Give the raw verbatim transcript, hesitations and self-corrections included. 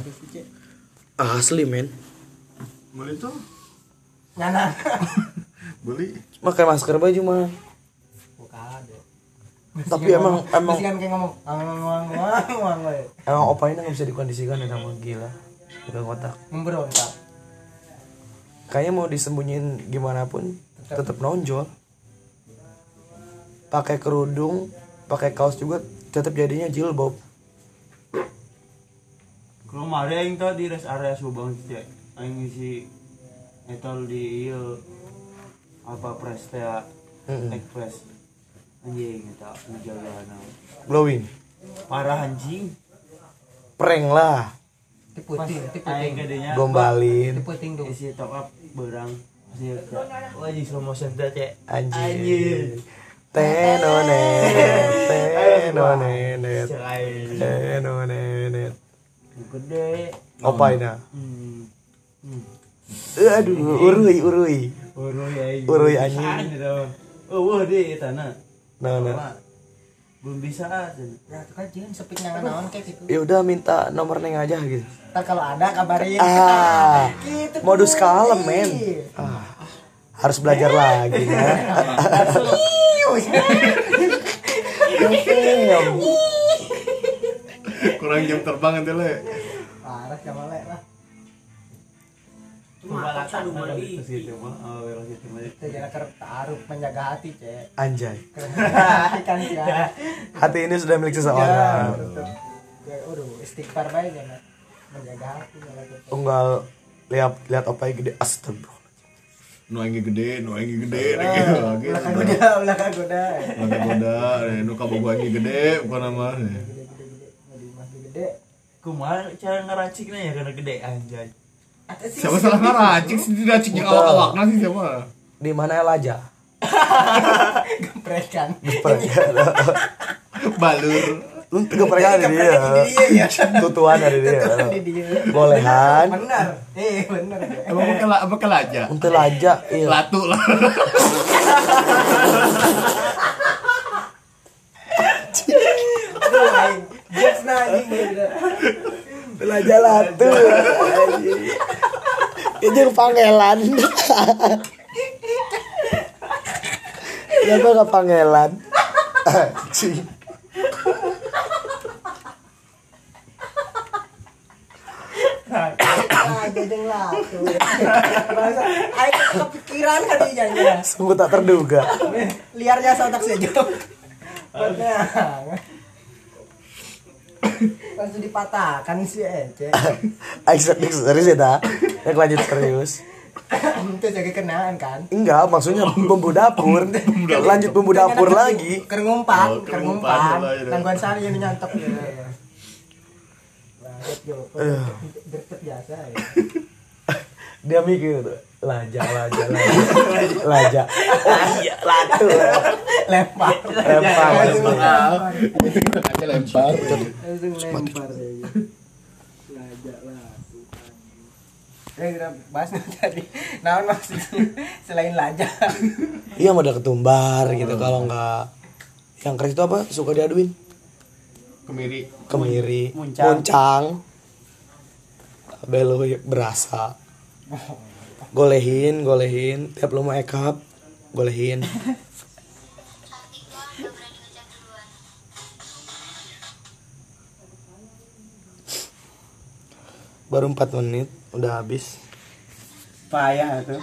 kondisi cek. Asli men. Beli tuh. Ngana. Beli. Pakai masker baju mah. Bukan deh. Tapi emang emang Masih kan kayak ngomong ngomong ngomong we. emang opa ini nggak bisa dikondisikan ya sama gila. Udah kotak. Memberontak. Kayaknya mau disembunyiin gimana pun tetap nonjol. Pakai kerudung, pakai kaos juga tetap jadinya jilbab. Kalau kemarin aing teh di rest area Subang teh aing ngisi etol di ieu apa Prestea Heeh. Express anjing eta ngejagana Glowing. parah anjing Prank lah. Tipu ting, tipu aing ting. gedenya Gombalin. Tipu ting dong. isi top up berang masih wah anjing slow motion teh cek Anjing. Tenonet, tenonet, cek aing tenonet. gede Opa ini. hmm hmm Aduh, urui, urui. uruy aing Uruy anjing. oh wah deh tanah Nah, nah. belum bisa aja Ya itu kan jangan sepik nangan naon kayak gitu. Ya udah minta nomor Neng aja gitu. Ntar kalau ada kabarin. Ah, Gitu, modus tuh. kalem men. Ah, harus belajar lagi ya. Kurang jam terbang ente le. Parah sama lek lah. cuma laksa lu beli gitu mah oh gitu mah Itu jangan ker taruh menjaga hati cek. Anjay. Hati kan ya. Hati ini sudah milik seseorang. Ya udah istighfar baik jangan menjaga hati jangan gitu. Unggal lihat lihat opa yang gede astagfirullah. Nu aing gede, nu aing gede, Ah, lagi. Belakang goda, belakang goda. Lagi goda, nu kabogo aing gede, bukan nama. Gede-gede, gede masih gede. kumaha cara ngeraciknya ya karena gede anjay Atas sih. Siapa salah ngaracik sih diracik yang awak-awakna sih siapa? Di mana Elaja? Geprekan. Balur. Lu kepercayaan di dia. Iya, Tutuan ada dia. Tutuan di dia. Bolehan. Benar. Eh, benar. Emang bakal apa kelaja? Untuk Elaja, iya. Latu lah. Aduh, aing. Jokes na anjing. Elaja latu. Itu pangelan. Kenapa nggak pangelan? Anjing. Ah, jajang lah tuh. Masa aing kepikiran kali jadinya. Sungguh tak terduga. Liarnya otak saja. Benar. Langsung dipatahkan sih Ece. Aisyah serius ya dah. Yang lanjut serius. Itu jadi kenaan kan. Enggak, maksudnya bumbu dapur. Lanjut bumbu dapur lagi. Kerngumpan, Oh, kerngumpan kerngumpan. lah, itu. Tangguhan sari yang nyantok ya. Lanjut yo. Deket biasa ya. Dia mikir tuh, laja, laja, laja, laja. Oh iya, latu. Lempar. Lempar. Lempar. Aja lempar. Langsung lempar ya. Lajak lah. Eh, kita bahas nih tadi. Nah, maksudnya selain lajak. Iya modal ketumbar gitu kalau enggak yang keren itu apa? Suka diaduin. Kemiri. Kemiri, Muncang. muncang. Belo berasa. Golehin, golehin. Tiap lu mau ekap, golehin. Baru empat menit udah habis. payah tuh